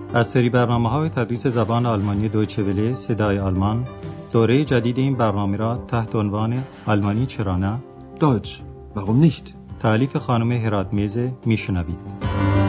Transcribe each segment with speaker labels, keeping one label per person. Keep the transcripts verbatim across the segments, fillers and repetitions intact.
Speaker 1: از سری برنامه‌های تدریس زبان آلمانی دویچه وله صدای آلمان، دوره جدید این برنامه را تحت عنوان آلمانی چرا نه؟
Speaker 2: Deutsch, warum nicht؟
Speaker 1: تألیف خانم هراتمیز میشنوید.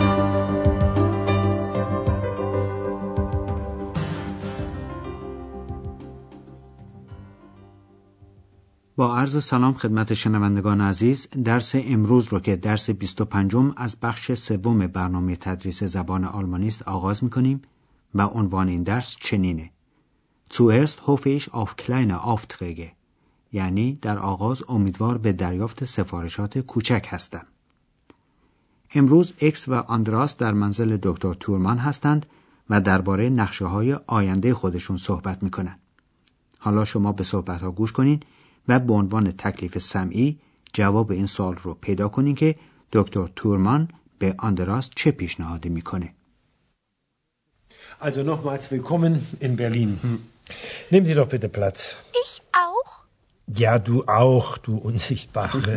Speaker 3: با عرض سلام خدمت شنوندگان عزیز، درس امروز رو که درس بیست و پنجم از بخش سوم برنامه تدریس زبان آلمانی است آغاز می‌کنیم و عنوان این درس چنینه: Zuerst hoffe ich auf kleine Aufträge، یعنی در آغاز امیدوار به دریافت سفارشات کوچک هستم. امروز اکس و آندراس در منزل دکتر تورمان هستند و درباره نقشه‌های آینده خودشون صحبت می‌کنند. حالا شما به صحبت‌ها گوش کنین و به عنوان تکلیف سمعی جواب این سوال رو پیدا کنین که دکتر تورمان به آندراس چه پیشنهادی میکنه.
Speaker 2: Also nochmals willkommen in Berlin. Nehmen Sie doch bitte Platz.
Speaker 4: Ich auch?
Speaker 2: Ja, du auch, du Unsichtbare.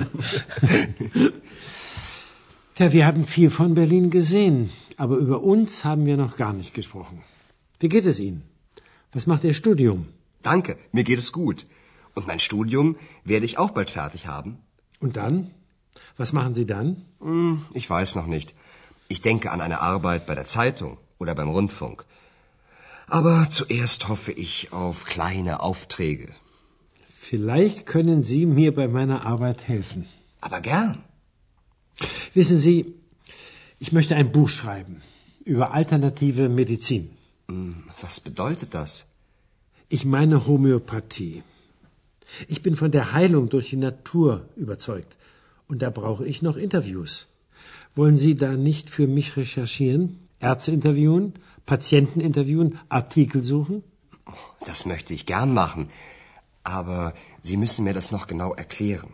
Speaker 2: Ja, wir haben viel von Berlin gesehen, aber über uns haben wir noch gar nicht gesprochen. Wie geht es Ihnen? Was macht Ihr Studium?
Speaker 5: Danke, mir geht es gut. Und mein Studium werde ich auch bald fertig haben.
Speaker 2: Und dann? Was machen Sie dann?
Speaker 5: Hm, ich weiß noch nicht. Ich denke an eine Arbeit bei der Zeitung oder beim Rundfunk. Aber zuerst hoffe ich auf kleine Aufträge.
Speaker 2: Vielleicht können Sie mir bei meiner Arbeit helfen.
Speaker 5: Aber gern.
Speaker 2: Wissen Sie, ich möchte ein Buch schreiben über alternative Medizin.
Speaker 5: Hm, was bedeutet das?
Speaker 2: Ich meine Homöopathie. Ich bin von der Heilung durch die Natur überzeugt. Und da brauche ich noch Interviews. Wollen Sie da nicht für mich recherchieren? Ärzte interviewen? Patienten interviewen? Artikel suchen?
Speaker 5: Das möchte ich gern machen. Aber Sie müssen mir das noch genau erklären.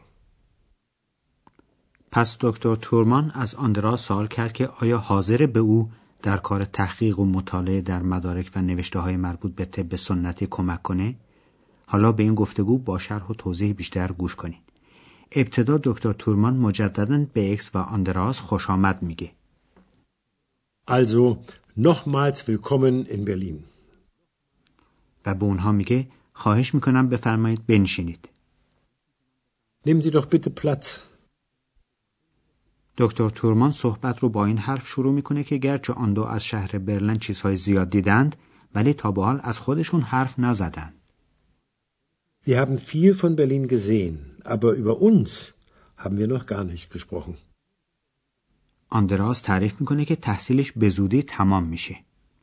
Speaker 3: پس دکتر تورمان از آندراس سوال کرد که آیا حاضر به او در کار تحقیق و مطالعه در مدارک و نوشته‌های مربوط به طب سنتی کمک کنه؟ حالا به این گفتگو با شرح و توضیح بیشتر گوش کنید. ابتدا دکتر تورمان مجدداً به اکس و آندراس خوش آمد میگه.
Speaker 2: Also, nochmals willkommen in Berlin.
Speaker 3: و به اونها میگه خواهش میکنم بفرمایید بنشینید.
Speaker 2: Nehmen Sie doch bitte Platz.
Speaker 3: دکتر تورمان صحبت رو با این حرف شروع میکنه که گرچه آن دو از شهر برلین چیزهای زیاد دیدند ولی تا به حال از خودشون حرف نزدند.
Speaker 2: Wir haben viel von Berlin gesehen, aber über uns haben wir noch gar nicht gesprochen.
Speaker 3: آندراس تعریف میکنه که تحصیلش به زودی تمام میشه.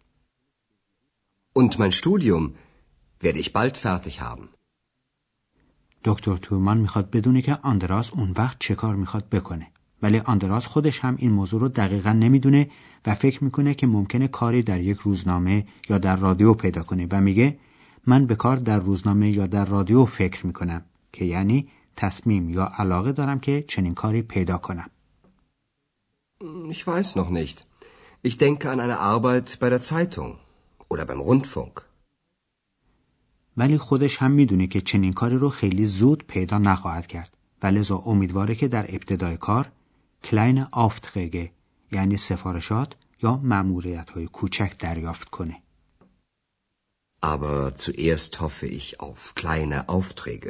Speaker 5: Und mein Studium werde ich bald fertig haben.
Speaker 3: دکتر تورمان میخواد بدونه که آندراس اون وقت چه کار میخواد بکنه. ولی آندراس خودش هم این موضوع رو دقیقاً نمیدونه و فکر میکنه که ممکنه کاری در یک روزنامه یا در رادیو پیدا کنه و میگه من به کار در روزنامه یا در رادیو فکر میکنم که یعنی تصمیم یا علاقه دارم که چنین کاری پیدا کنم.
Speaker 5: Ich weiß noch nicht. Ich denke an eine Arbeit bei der Zeitung oder beim Rundfunk.
Speaker 3: ولی خودش هم میدونه که چنین کاری رو خیلی زود پیدا نخواهد کرد و لذا امیدواره که در ابتدای کار kleine Aufträge یعنی سفارشات یا مأموریت‌های کوچک دریافت کنه.
Speaker 5: Aber zuerst hoffe ich auf kleine Aufträge.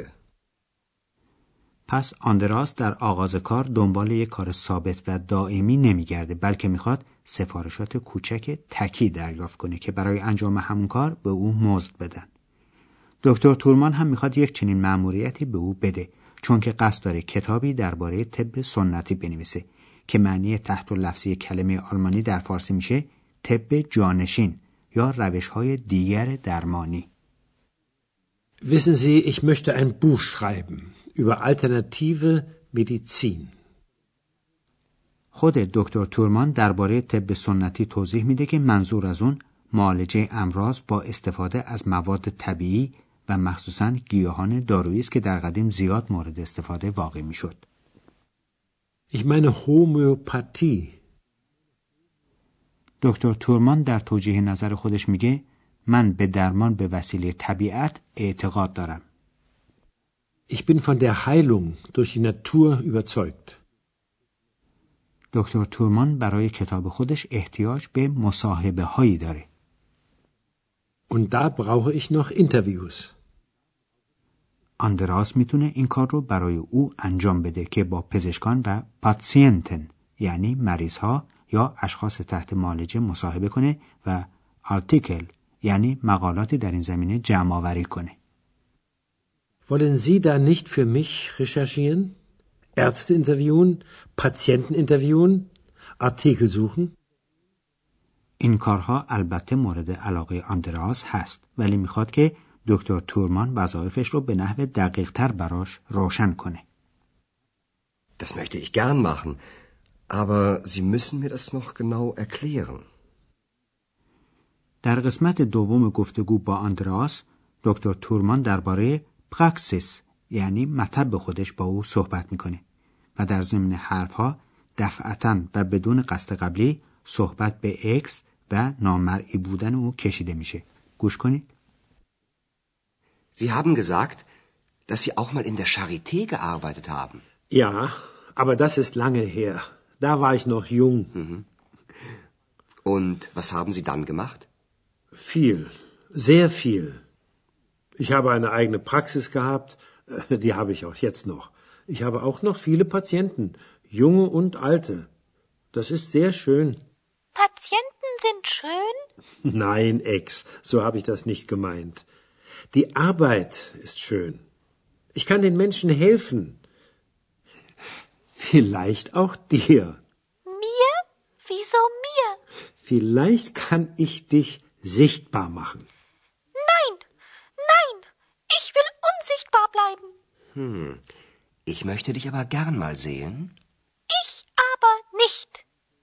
Speaker 3: پس آندراس در آغاز کار دنبال یک کار ثابت و دائمی نمیگرده بلکه میخواد سفارشات کوچک تکی دریافت کنه که برای انجام همون کار به او مزد بدن. دکتر تورمان هم میخواد یک چنین مأموریتی به او بده چون که قصد داره کتابی درباره طب سنتی بنویسه که معنی تحت لفظی کلمه آلمانی در فارسی میشه طب جانشین یا روش‌های دیگر درمانی.
Speaker 2: Wissen Sie, ich möchte ein Buch schreiben über alternative Medizin.
Speaker 3: خود دکتر تورمان درباره طب سنتی توضیح میده که منظور از اون معالجه امراض با استفاده از مواد طبیعی و مخصوصاً گیاهان دارویی است که در قدیم زیاد مورد استفاده واقع میشد.
Speaker 2: Ich meine Homöopathie.
Speaker 3: دکتر تورمان در توجیه نظر خودش میگه من به درمان به وسیله طبیعت اعتقاد دارم.
Speaker 2: Ich bin von der Heilung durch die Natur überzeugt.
Speaker 3: دکتر تورمان برای کتاب خودش احتیاج به مصاحبه هایی داره.
Speaker 2: Und da brauche ich noch Interviews.
Speaker 3: آندراس میتونه این کار رو برای او انجام بده که با پزشکان و پاتسینتن یعنی مریض ها یا اشخاص تحت معالجه مصاحبه کنه و آرتیکل یعنی مقالاتی در این زمینه جمع آوری کنه.
Speaker 2: Wollen Sie da nicht für mich recherchieren? Ärzte interviewen, Patienten interviewen, Artikel suchen?
Speaker 3: این کارها البته مورد علاقه آندراس هست ولی میخواد که دکتر تورمان وظایفش رو به نحو دقیق تر براش روشن کنه.
Speaker 5: Das möchte ich gern machen, aber Sie müssen mir das noch genau erklären.
Speaker 3: در قسمت دوم گفتگو با آندراس دکتر تورمان درباره پراکسیس یعنی مطب خودش با او صحبت میکنه و در ضمن حرفها دفعتاً و بدون قصد قبلی صحبت به اکس و نامرئی بودن او کشیده میشه. گوش کنید.
Speaker 5: Sie haben gesagt, dass Sie auch mal in der Charité gearbeitet haben.
Speaker 2: Ja, aber das ist lange her. Da war ich noch jung.
Speaker 5: Mhm. Und was haben Sie dann gemacht?
Speaker 2: Viel, sehr viel. Ich habe eine eigene Praxis gehabt, die habe ich auch jetzt noch. Ich habe auch noch viele Patienten, junge und alte. Das ist sehr schön.
Speaker 4: Patienten sind schön?
Speaker 2: Nein, Ex, so habe ich das nicht gemeint. Die Arbeit ist schön. Ich kann den Menschen helfen. Vielleicht auch dir.
Speaker 4: Mir? Wieso mir?
Speaker 2: Vielleicht kann ich dich sichtbar machen.
Speaker 4: Nein, nein, ich will unsichtbar bleiben.
Speaker 5: Hm, ich möchte dich aber gern mal sehen.
Speaker 4: Ich aber nicht.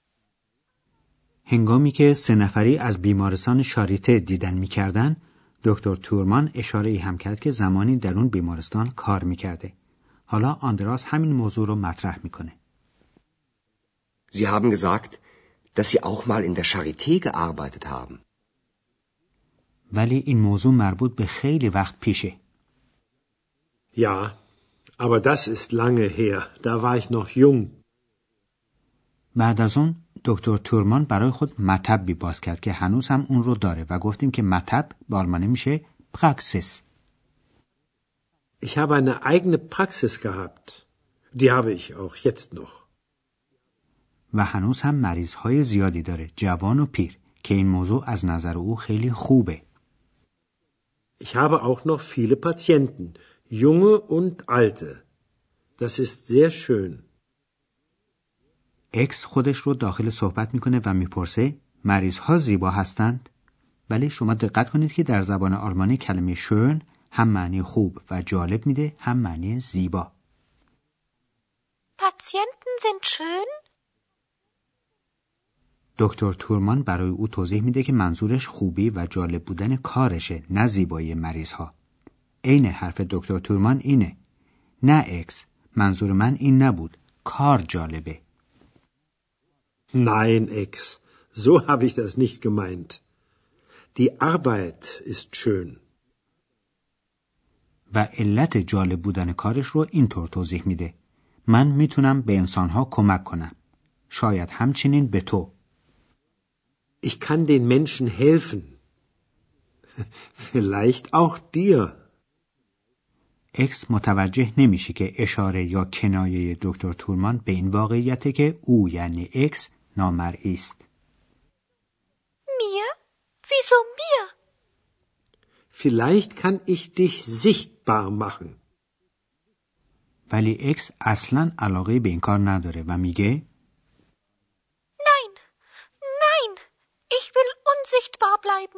Speaker 3: هنگامی که سه نفری از بیمارستان شاریته دیدن می‌کردن، دکتر تورمان اشاره ای هم کرد که زمانی در اون بیمارستان کار می‌کرده. حالا آندراس همین موضوع رو مطرح می‌کنه.
Speaker 5: Sie haben gesagt, dass Sie auch mal in der Charité gearbeitet haben.
Speaker 3: ولی این موضوع مربوط به خیلی وقت پیشه.
Speaker 2: Ja, aber das ist lange her. Da war ich noch jung.
Speaker 3: بعد از اون دکتر تورمان برای خود مطبی باز کرد که هنوز هم اون رو داره و گفتیم که مطب به آلمانی میشه پراکسیس.
Speaker 2: Ich habe eine eigene Praxis gehabt. Die habe ich auch jetzt noch.
Speaker 3: و هنوز هم مریض‌های زیادی داره، جوان و پیر، که این موضوع از نظر او خیلی خوبه.
Speaker 2: Ich habe auch noch viele Patienten, junge und alte. Das ist sehr schön.
Speaker 3: اکس خودش رو داخل صحبت میکنه و میپرسه مریض‌ها زیبا هستند؟ ولی شما دقت کنید که در زبان آلمانی کلمه schön هم معنی خوب و جالب میده هم معنی زیبا.
Speaker 4: Patienten sind schön?
Speaker 3: دکتر تورمان برای او توضیح میده که منظورش خوبی و جالب بودن کارشه، نه زیبایی مریض‌ها. عین حرف دکتر تورمان اینه. نه اکس، منظور من این نبود. کار جالبه.
Speaker 2: Nein, Ex, so habe ich das nicht gemeint. Die Arbeit ist schön.
Speaker 3: و علت جالب بودن کارش رو اینطور توضیح میده. من میتونم به انسانها کمک کنم. شاید همچنین به تو.
Speaker 2: Ich kann den Menschen helfen. Vielleicht auch dir.
Speaker 3: اکس متوجه نمیشه که اشاره یا کنایه دکتر تورمان به این واقعیته که او یعنی اکس نامرئی است.
Speaker 4: Mir? Wieso mir?
Speaker 2: Vielleicht kann ich dich sichtbar machen.
Speaker 3: ولی اکس اصلاً علاقه به این کار نداره و میگه
Speaker 4: Nein, nein, ich will unsichtbar bleiben.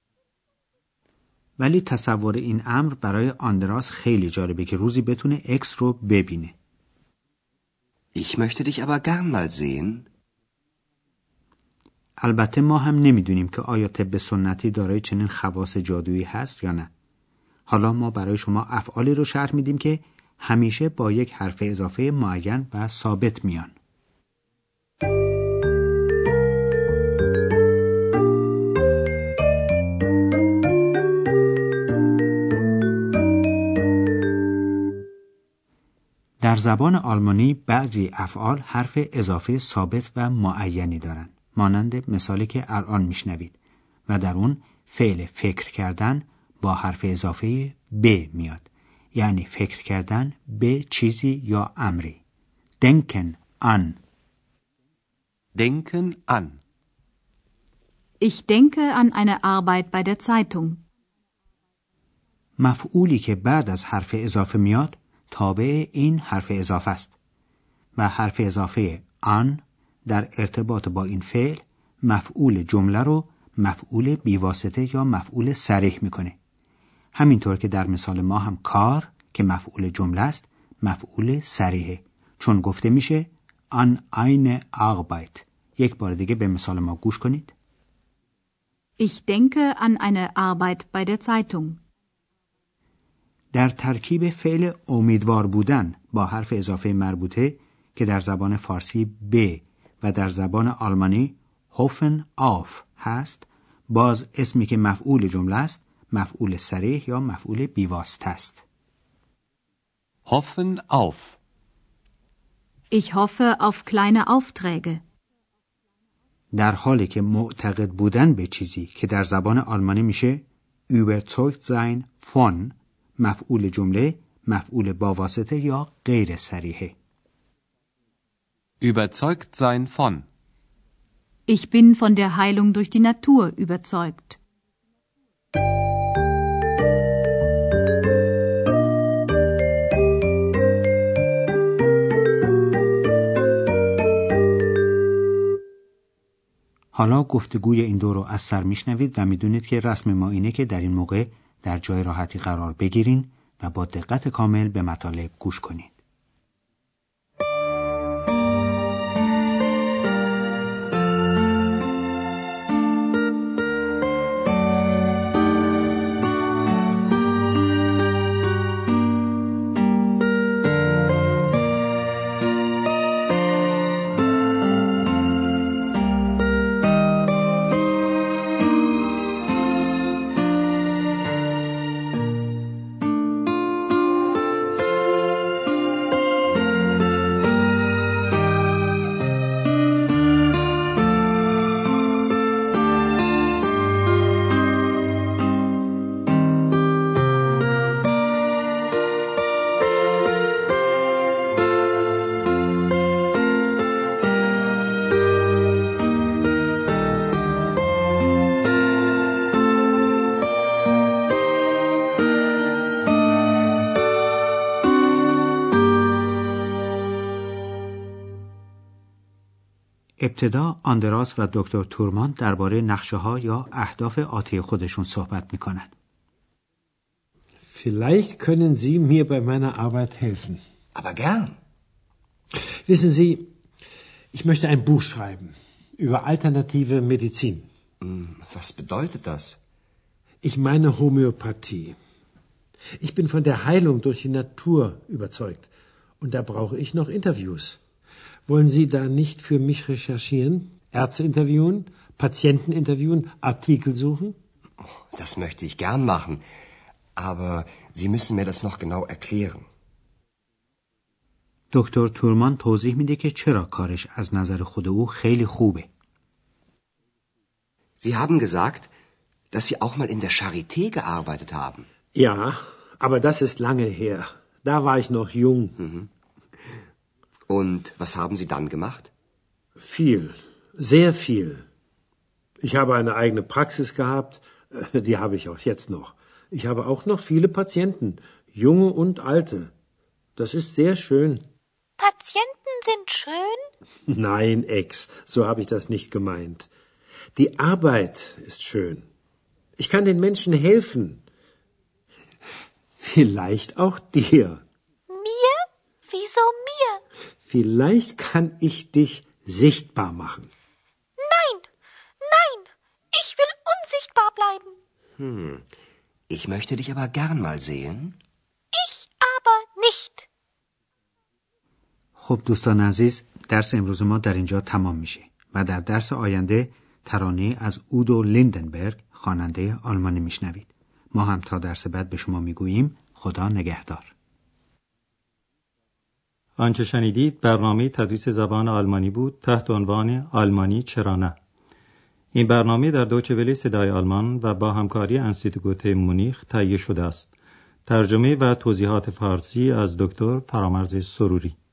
Speaker 3: ولی تصور این امر برای آندراس خیلی جالبه که روزی بتونه اکس رو ببینه.
Speaker 5: Ich möchte dich aber gern mal sehen.
Speaker 3: البته ما هم نمیدونیم که آیا طب سنتی دارای چنین خواص جادویی هست یا نه. حالا ما برای شما افعالی رو شرح میدیم که همیشه با یک حرف اضافه معین و ثابت میان. در زبان آلمانی بعضی افعال حرف اضافه ثابت و معینی دارن، مانند مثالی که الان میشنوید و در اون فعل فکر کردن با حرف اضافه به میاد، یعنی فکر کردن به چیزی یا امری. denken an.
Speaker 6: Denken an.
Speaker 7: Ich denke an eine Arbeit bei der Zeitung.
Speaker 3: مفعولی که بعد از حرف اضافه میاد تابع این حرف اضافه است و حرف اضافه an در ارتباط با این فعل مفعول جمله رو مفعول بیواسطه یا مفعول صریح میکنه. همینطور که در مثال ما هم کار که مفعول جمله است مفعول صریحه، چون گفته میشه an eine Arbeit. یک بار دیگه به مثال ما گوش کنید.
Speaker 7: Ich denke an eine Arbeit bei der Zeitung.
Speaker 3: در ترکیب فعل امیدوار بودن با حرف اضافه مربوطه که در زبان فارسی به و در زبان آلمانی hoffen auf هست، باز اسمی که مفعول جمله است مفعول صریح یا مفعول بیواسطه است.
Speaker 6: Hoffen auf.
Speaker 7: Ich hoffe auf kleine Aufträge.
Speaker 3: در حالی که معتقد بودن به چیزی که در زبان آلمانی میشه überzeugt sein von، مفعول جمله مفعول با واسطه یا غیر صریحه.
Speaker 6: Überzeugt sein von.
Speaker 7: Ich bin von der Heilung durch die Natur überzeugt.
Speaker 3: حالا گفتگوی این دو رو از سر میشنوید و میدونید که رسم ما اینه که در این موقع در جای راحتی قرار بگیرین و با دقت کامل به مطالب گوش کنید. ابتدا آندراس و دکتر تورمان درباره نقشه‌ها یا اهداف آتی خودشون صحبت می‌کنن.
Speaker 2: Vielleicht können Sie mir bei meiner Arbeit helfen.
Speaker 5: Aber gern.
Speaker 2: Wissen Sie, ich möchte ein Buch schreiben über alternative Medizin.
Speaker 5: Was bedeutet das?
Speaker 2: Ich meine Homöopathie. Ich bin von der Heilung durch die Natur überzeugt und da brauche ich noch Interviews. Wollen Sie da nicht für mich recherchieren, Ärzte interviewen, Patienten interviewen, Artikel suchen?
Speaker 5: Das möchte ich gern machen, aber Sie müssen mir das noch genau erklären.
Speaker 3: دکتر تورمان توضیح میده که چرا کارش از نظر خود او خیلی خوبه.
Speaker 5: Sie haben gesagt, dass Sie auch mal in der Charité gearbeitet haben.
Speaker 2: Ja, aber das ist lange her. Da war ich noch jung.
Speaker 5: Mhm. Und was haben Sie dann gemacht?
Speaker 2: Viel, sehr viel. Ich habe eine eigene Praxis gehabt, die habe ich auch jetzt noch. Ich habe auch noch viele Patienten, junge und alte. Das ist sehr schön.
Speaker 4: Patienten sind schön?
Speaker 2: Nein, Ex, so habe ich das nicht gemeint. Die Arbeit ist schön. Ich kann den Menschen helfen. Vielleicht auch dir.
Speaker 4: Mir? Wieso mir?
Speaker 2: Vielleicht kann ich dich sichtbar machen.
Speaker 4: Nein, nein, ich will unsichtbar bleiben.
Speaker 5: Hm, ich möchte dich aber gern mal sehen.
Speaker 4: Ich aber nicht.
Speaker 3: خب دوستان عزیز، درس امروز ما در اینجا تمام میشه و در درس آینده ترانه از اودو لیندنبرگ خواننده آلمانی میشنوید. ما هم تا درس بعد به شما میگوییم خدا نگهدار.
Speaker 1: آنچه شنیدید برنامه تدریس زبان آلمانی بود تحت عنوان آلمانی چرا نه. این برنامه در دویچه وله صدای آلمان و با همکاری انستیتوت مونیخ تهیه شده است. ترجمه و توضیحات فارسی از دکتر فرامرز سروری.